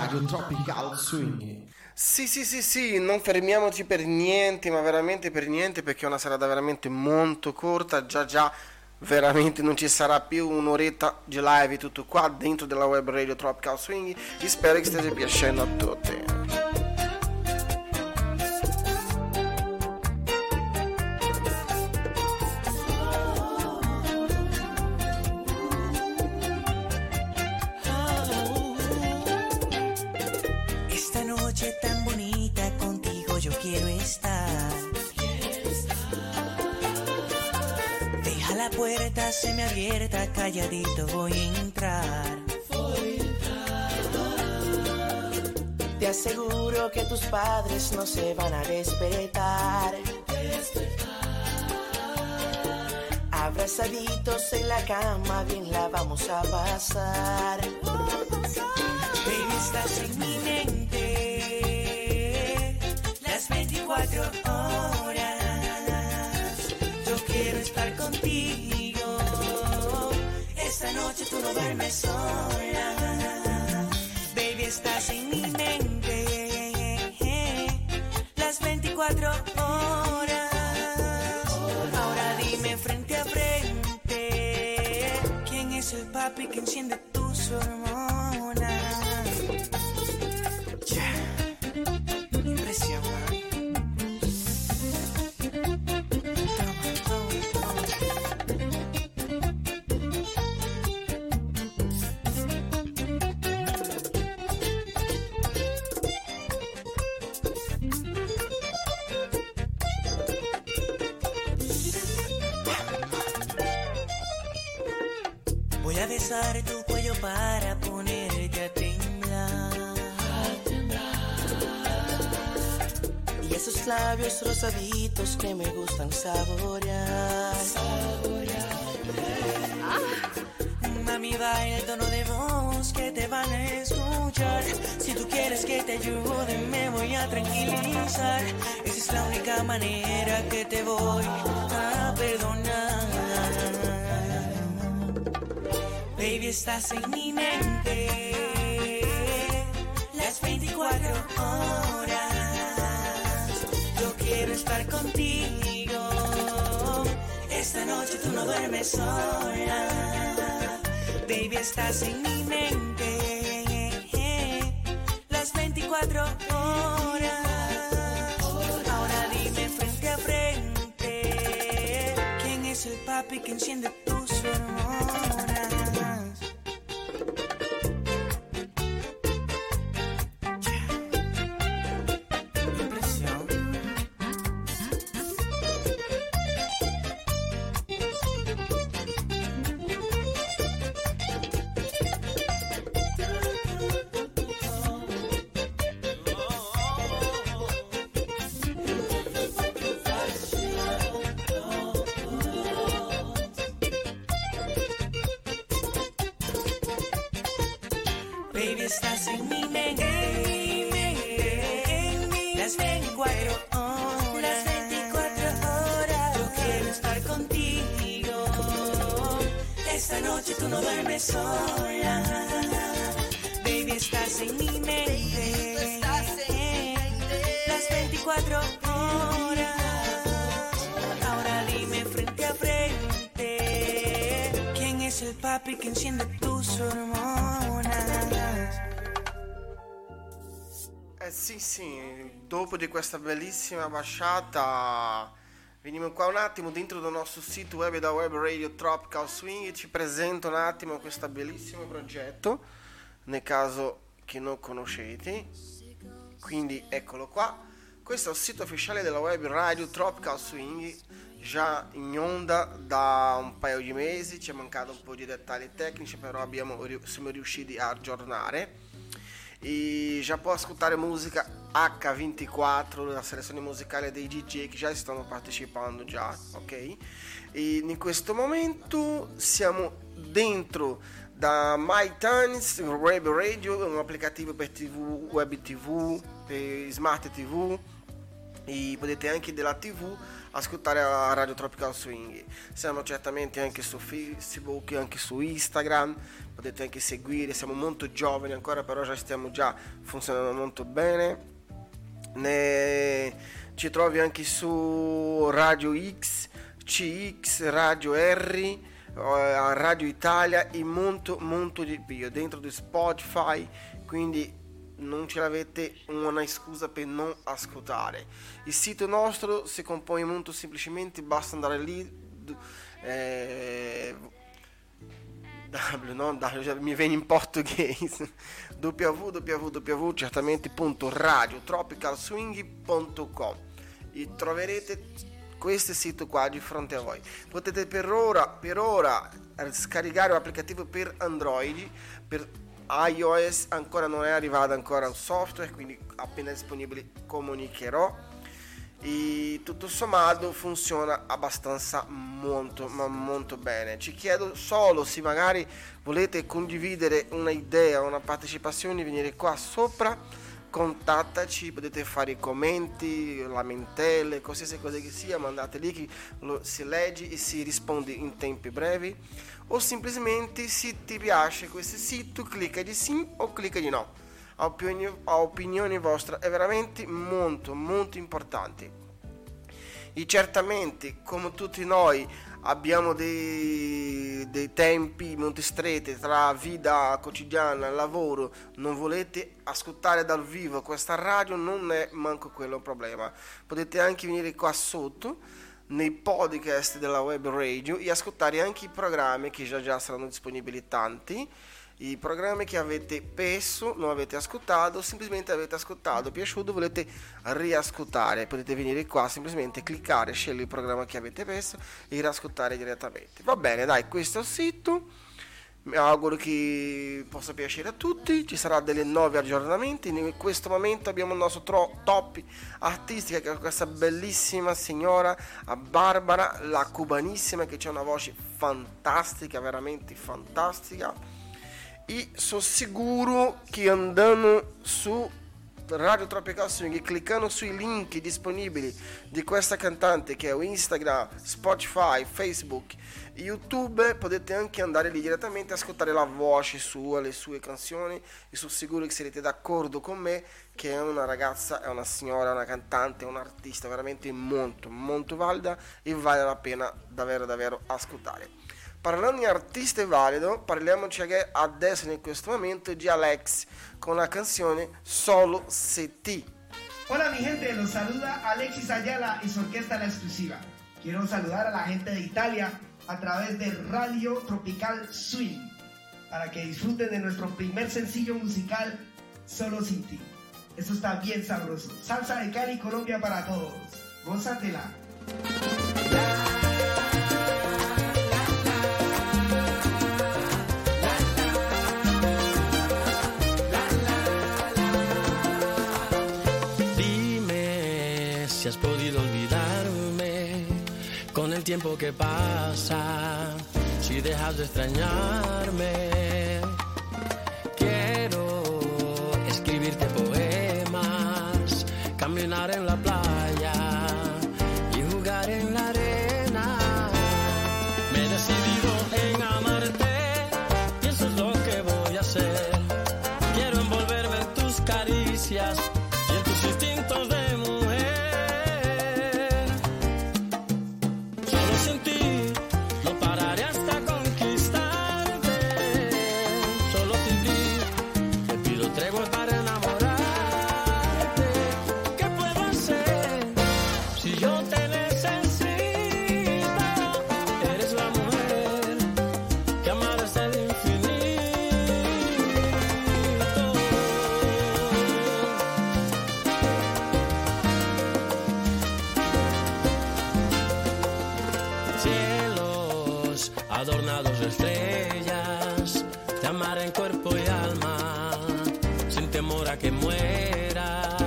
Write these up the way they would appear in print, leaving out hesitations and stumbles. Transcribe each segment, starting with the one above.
Radio Tropical Swing. Sì, non fermiamoci per niente, ma veramente per niente, perché è una serata veramente molto corta, già, veramente non ci sarà più un'oretta di live tutto qua dentro della web radio Tropical Swing, e spero che stia piacendo a tutti. Quiero estar. Deja la puerta semiabierta, calladito voy a entrar. Te aseguro que tus padres no se van a despertar. Abrazaditos en la cama, bien la vamos a pasar. Baby, estás en mi mente 24 horas, yo quiero estar contigo. Esta noche tú no duermes sola. Baby, estás en mi mente las 24 horas. Ahora dime frente a frente, ¿quién es el papi que enciende tus hormonas? Voy a besar tu cuello para ponerte a temblar. Y esos labios rosaditos que me gustan saborear. Mami, baila el tono de voz que te van a escuchar. Si tú quieres que te ayude, me voy a tranquilizar. Esa es la única manera que te voy a perdonar. Baby, estás en mi mente las 24 horas. Yo quiero estar contigo. Esta noche tú no duermes sola. Baby, estás en mi mente las 24 horas. Ahora dime frente a frente, ¿quién es el papi que enciende tus hormonas? Baby, estás en mi mente, las 24 horas, yo quiero estar contigo. Esta noche tú no duermes sola. Baby, estás en mi mente, las 24 horas. Ahora dime frente a frente, ¿quién es el papi que enciende tus hormonas? Sì, dopo di questa bellissima basciata veniamo qua un attimo dentro del nostro sito web da Web Radio Tropical Swing e ci presento un attimo questo bellissimo progetto, nel caso che non conoscete. Quindi eccolo qua, questo è il sito ufficiale della Web Radio Tropical Swing, già in onda da un paio di mesi, ci è mancato un po' di dettagli tecnici, però siamo riusciti a aggiornare. E già può ascoltare musica H24, la selezione musicale dei DJ che già stanno partecipando già, ok? E in questo momento siamo dentro da MyTunes Web Radio, un applicativo per TV, web TV, per smart TV, e potete anche della TV ascoltare la Radio Tropical Swing. Siamo certamente anche su Facebook, anche su Instagram, potete anche seguire, siamo molto giovani ancora, però stiamo già funzionando molto bene. Ci trovi anche su Radio X, CX, Radio R, Radio Italia e molto di più dentro di Spotify, quindi non ce l'avete una scusa per non ascoltare. Il sito nostro si compone molto semplicemente, basta andare lì, mi viene in portoghese, www.radiotropicalswing.com e troverete questo sito qua di fronte a voi. Potete per ora scaricare l'applicativo per Android, per iOS ancora non è arrivato ancora il software, quindi appena disponibile comunicherò. E tutto sommato funziona abbastanza molto bene. Ci chiedo solo se magari volete condividere un'idea, una partecipazione, venire qua sopra, contattaci, potete fare i commenti, lamentele, qualsiasi cosa che sia, mandate lì che si legge e si risponde in tempi brevi, o semplicemente se ti piace questo sito clicca di sì o clicca di no. A opinione vostra è veramente molto importante. E certamente, come tutti noi, abbiamo dei tempi molto stretti tra vita quotidiana e lavoro, non volete ascoltare dal vivo questa radio, non è manco quello un problema. Potete anche venire qua sotto nei podcast della web radio e ascoltare anche i programmi che già saranno disponibili, tanti. I programmi che avete perso, non avete ascoltato, semplicemente avete ascoltato, piaciuto, volete riascoltare, potete venire qua, semplicemente cliccare, scegliere il programma che avete perso e riascoltare direttamente. Va bene, dai, questo è il sito, mi auguro che possa piacere a tutti, ci sarà delle nuovi aggiornamenti. In questo momento abbiamo il nostro top artistica, che è questa bellissima signora Barbara, la cubanissima, che c'ha una voce fantastica, veramente fantastica. E sono sicuro che andando su Radio Tropical Swing e cliccando sui link disponibili di questa cantante, che è Instagram, Spotify, Facebook e YouTube, potete anche andare lì direttamente a ascoltare la voce sua, le sue canzoni, e sono sicuro che sarete d'accordo con me che è una ragazza, è una signora, una cantante, un artista veramente molto valida e vale la pena davvero ascoltare. Parlando di artista valido, parliamoci adesso in questo momento di Alex con la canzone Solo Se Ti. Hola mi gente, los saluda Alexis Ayala y su orquesta La Exclusiva. Quiero saludar a la gente de Italia a través de Radio Tropical Swing para que disfruten de nuestro primer sencillo musical Solo Sin Ti. Esto está bien sabroso. Salsa de Cali, Colombia para todos. Gózatela. Si has podido olvidarme con el tiempo que pasa, si dejas de extrañarme, quiero escribirte poemas, caminar en la playa y jugar en la arena. Me he decidido en amarte y eso es lo que voy a hacer. Quiero envolverme en tus caricias y en tus instintos de adornados de estrellas, te amaré en cuerpo y alma, sin temor a que muera.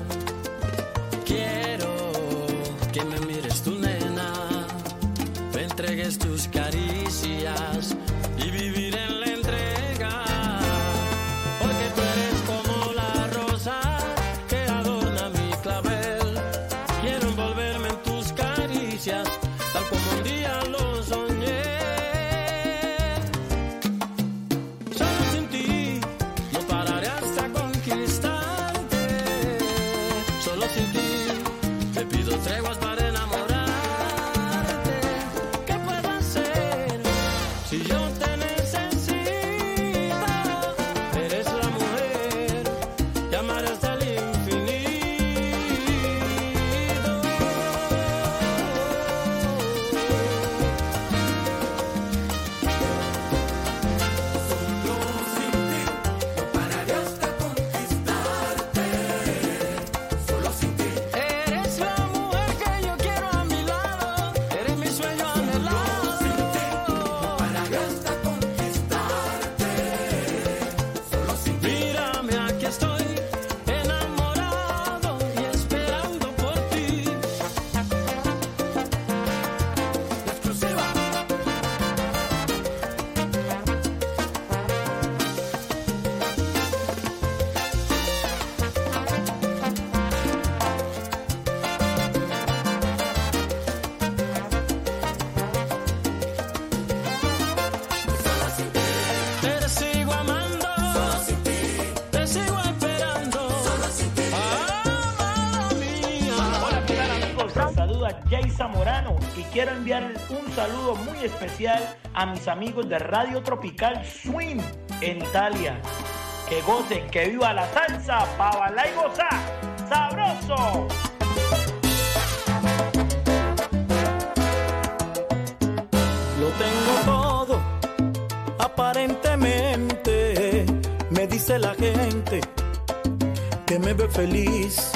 Quiero que me mires tu nena, me entregues tus caricias y vivir en la entrega, porque tú eres como la rosa que adorna mi clavel. Quiero envolverme en tus caricias, tal como un día lo soñé. quiero enviar un saludo muy especial a mis amigos de Radio Tropical Swing en Italia. Que gocen, que viva la salsa, pa' bailar y gozar. ¡Sabroso! Lo tengo todo, aparentemente, me dice la gente que me ve feliz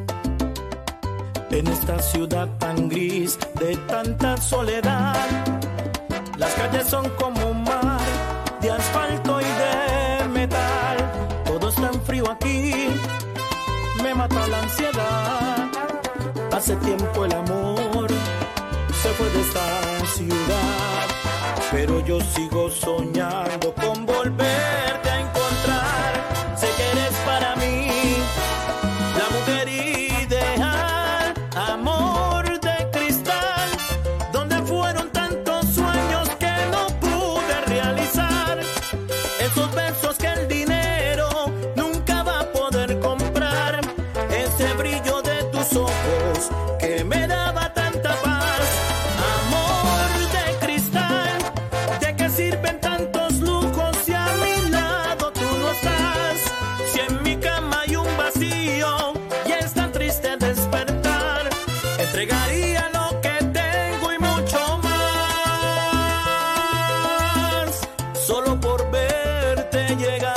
en esta ciudad tan gris de tanta soledad. Las calles son como un mar de asfalto y de metal. Todo es tan frío aquí, me mata la ansiedad. Hace tiempo el amor se fue de esta ciudad, pero yo sigo soñando con volverte a encontrar. Sé que eres para mí la mujer ideal, amor de cristal, donde fueron tantos sueños que no pude realizar. Esos besos que el dinero nunca va a poder comprar, ese brillo de tus ojos que me daba tanta paz. Amor de cristal, ¿de qué sirven tantos lujos si a mi lado tú no estás? Si en mi cama hay un vacío y es tan triste despertar, entregaría lo que tengo y mucho más, solo por verte llegar.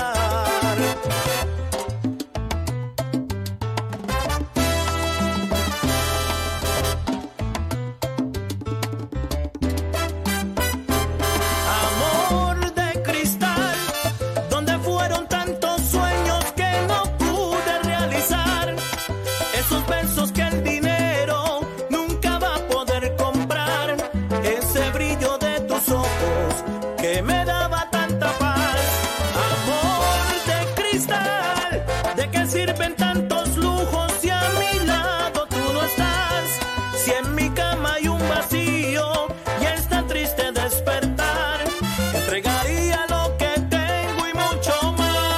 Amor de cristal, donde fueron tantos sueños que no pude realizar. Esos besos que el dinero nunca va a poder comprar. Ese brillo de tus ojos que me daba tanta paz. Amor de cristal, ¿de qué sirven tantos lujos si a mi lado tú no estás? Si en mi cama hay un vacío y es tan triste despertar, entregaría lo que tengo y mucho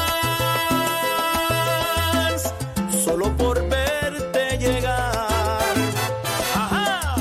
más, solo por verte llegar. Ajá.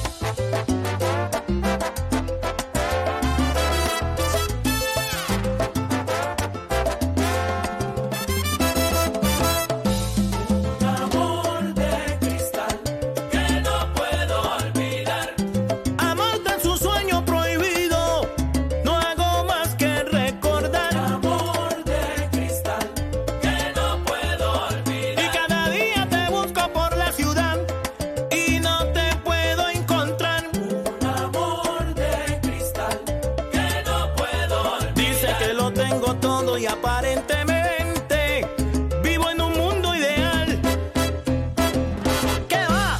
Amor de cristal que no puedo olvidar. Amarte en su sueño prohibido, no hago más que recordar. Amor de cristal que no puedo olvidar. Y cada día te busco por la ciudad y no te puedo encontrar. Un amor de cristal que no puedo olvidar. Dice que lo tengo todo y aparentemente vivo en un mundo ideal. ¿Qué va?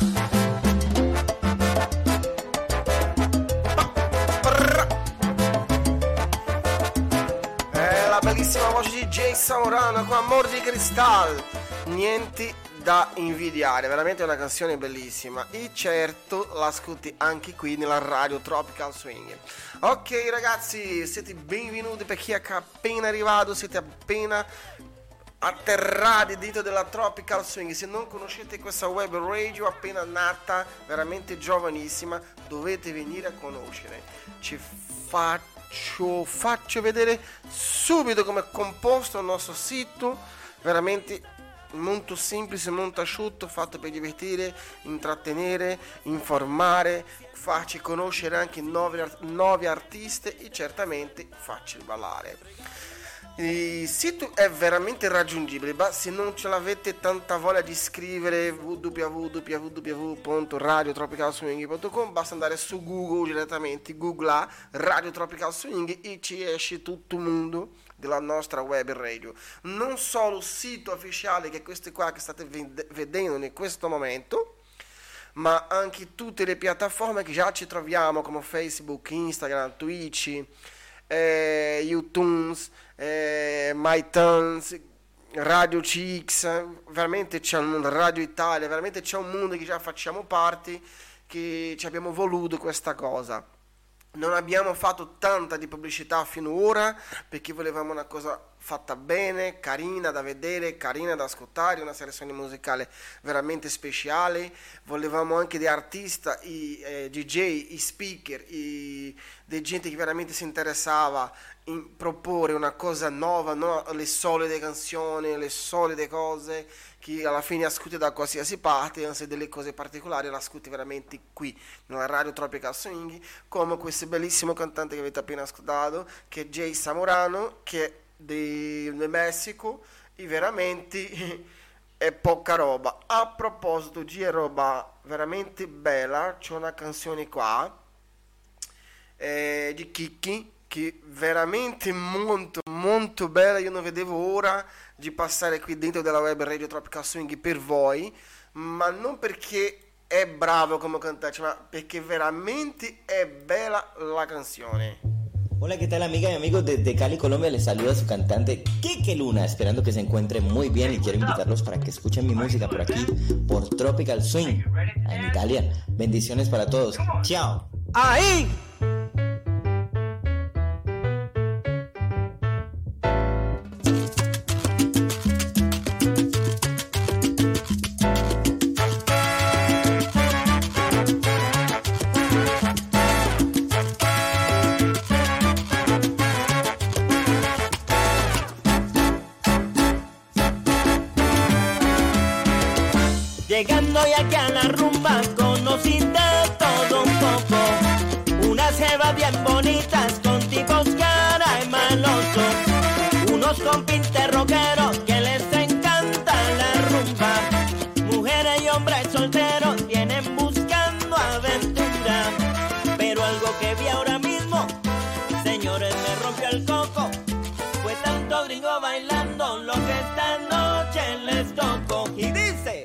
La bellissima voce di Jay Saurano con Amor di Cristal, niente da invidiare, veramente una canzone bellissima e certo l'ascolti anche qui nella radio Tropical Swing. Ok ragazzi, siete benvenuti per chi è appena arrivato, siete appena atterrati dentro della Tropical Swing. Se non conoscete questa web radio appena nata, veramente giovanissima, dovete venire a conoscere. Ci faccio vedere subito come è composto il nostro sito, veramente molto semplice, molto asciutto, fatto per divertire, intrattenere, informare, farci conoscere anche nuovi artisti e certamente farci ballare. Il sito è veramente raggiungibile, ma se non ce l'avete tanta voglia di scrivere www.radiotropicalswing.com, basta andare su Google direttamente, googla Radio Tropical Swing e ci esce tutto il mondo della nostra web radio. Non solo il sito ufficiale, che è questo qua che state vedendo in questo momento, ma anche tutte le piattaforme che già ci troviamo come Facebook, Instagram, Twitch, iTunes, MyTunes, Radio CX, veramente c'è un mondo, Radio Italia, veramente c'è un mondo che già facciamo parte, che ci abbiamo voluto questa cosa. Non abbiamo fatto tanta di pubblicità fino ora perché volevamo una cosa fatta bene, carina da vedere, carina da ascoltare, una selezione musicale veramente speciale. Volevamo anche dei artisti, i DJ, i speaker, dei gente che veramente si interessava in proporre una cosa nuova, non le solite canzoni, le solite cose che alla fine ascolti da qualsiasi parte, anzi delle cose particolari le ascolti veramente qui nella radio Tropical Swing, come questo bellissimo cantante che avete appena ascoltato, che è Jay Zamorano, che è del Messico, e veramente è poca roba. A proposito di roba veramente bella, c'è una canzone qua di Kiki che veramente molto molto bella. Io non vedevo ora di passare qui dentro della web radio Tropical Swing per voi, ma non perché è bravo come cantante, ma perché veramente è bella la canzone. Hola, ¿qué tal, amiga y amigos? Desde Cali, Colombia, les saluda su cantante Kike Luna, esperando que se encuentren muy bien, y quiero invitarlos para que escuchen mi música por aquí, por Tropical Swing, en Italia. Bendiciones para todos. Chao. ¡Ahí! Llegando ya que a la rumba conocí de todo un poco. Unas jevas bien bonitas con tipos cara y malosos. Unos compintes rockeros que les encanta la rumba. Mujeres y hombres solteros vienen buscando aventura. Pero algo que vi ahora mismo, señores, me rompió el coco. Fue tanto gringo bailando lo que esta noche les tocó. Y dice...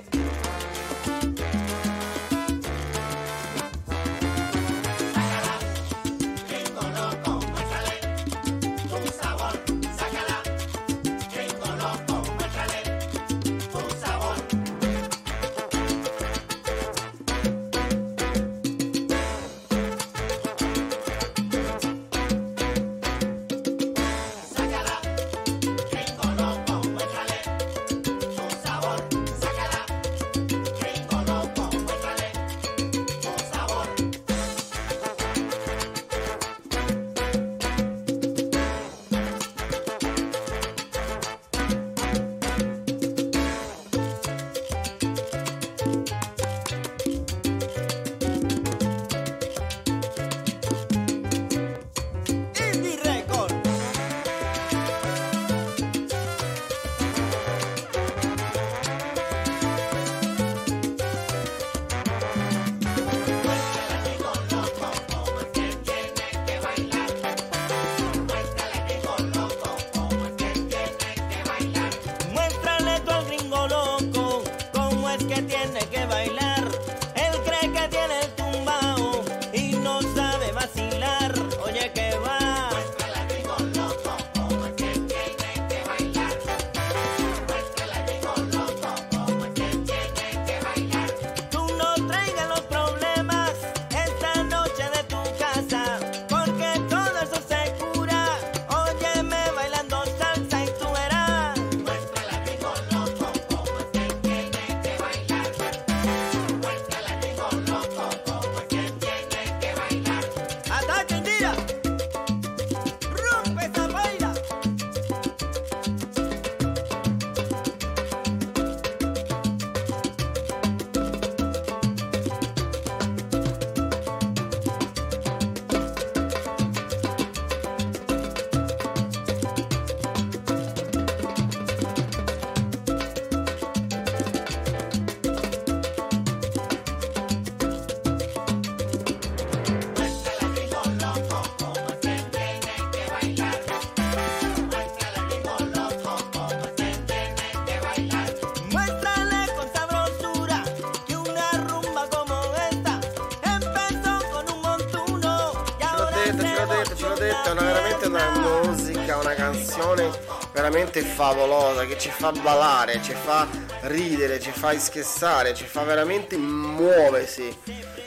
una musica, una canzone veramente favolosa che ci fa ballare, ci fa ridere, ci fa scherzare, ci fa veramente muoversi.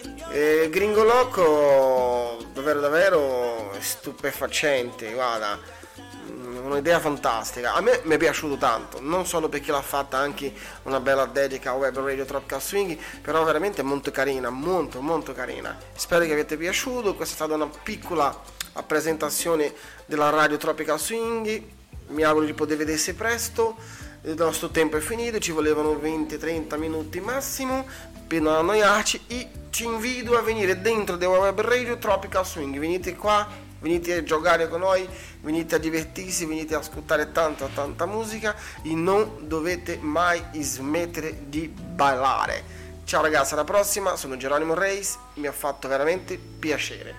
Gringo Loco davvero stupefacente, guarda, un'idea fantastica. A me mi è piaciuto tanto, non solo perché l'ha fatta anche una bella dedica a Web Radio Tropical Swing, però veramente molto carina, molto molto carina. Spero che vi sia piaciuto. Questa è stata una piccola presentazione della Radio Tropical Swing. Mi auguro di poter vedersi presto. Il nostro tempo è finito, ci volevano 20-30 minuti massimo per non annoiarci, e ci invito a venire dentro The Web Radio Tropical Swing. Venite qua, venite a giocare con noi, venite a divertirsi, venite a ascoltare tanta musica e non dovete mai smettere di ballare. Ciao ragazzi, alla prossima. Sono Geronimo Reis, mi ha fatto veramente piacere.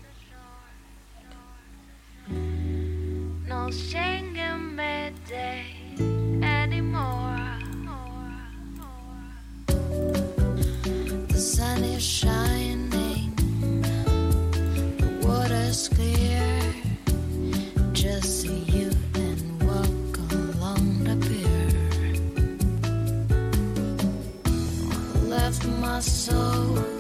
No singing midday anymore. The sun is shining, the water's clear. Just see you and walk along the pier. Left my soul